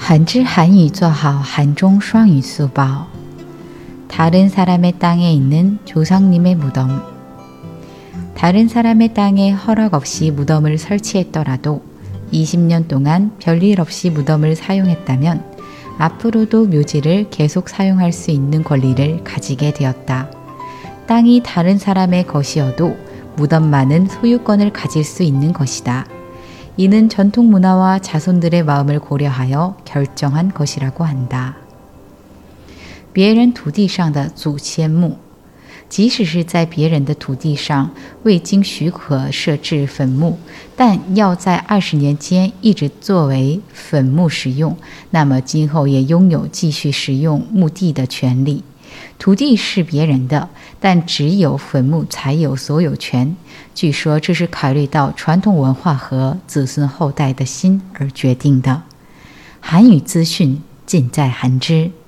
한지 한유 做好韩中双语速报 다른 사람의 땅에 있는 조상님의 무덤. 다른 사람의 땅에 허락 없이 무덤을 설치했더라도 20년 동안 별일 없이 무덤을 사용했다면 앞으로도 묘지를 계속 사용할 수 있는 권리를 가지게 되었다. 땅이 다른 사람의 것이어도 무덤만은 소유권을 가질 수 있는 것이다. 이는 전통 문화와 자손들의 마음을 고려하여 결정한 것이라고 한다. 别人土地上的祖先墓，即使是在别人的土地上未经许可设置坟墓，但要在20年间一直作为坟墓使用，那么今后也拥有继续使用墓地的权利。土地是别人的，但只有坟墓才有所有权。据说这是考虑到传统文化和子孙后代的心而决定的。韩语资讯尽在韩知。